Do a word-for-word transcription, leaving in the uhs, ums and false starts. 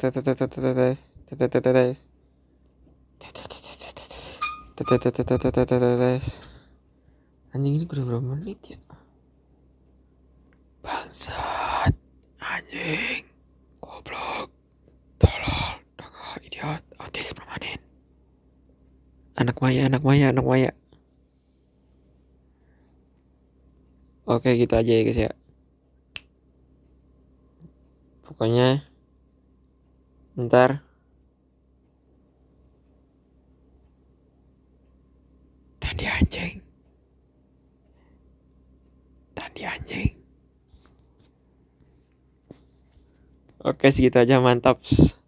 Anjing ini udah berapa menit ya? Bangsat, anjing, goblok, tolol, tolol, idiot, autis permanen. Anak Maya, anak Maya, anak Maya. Oke, gitu aja ya guys ya. Pokoknya ntar Dandi anjing, Dandi anjing. Oke, segitu aja, mantap.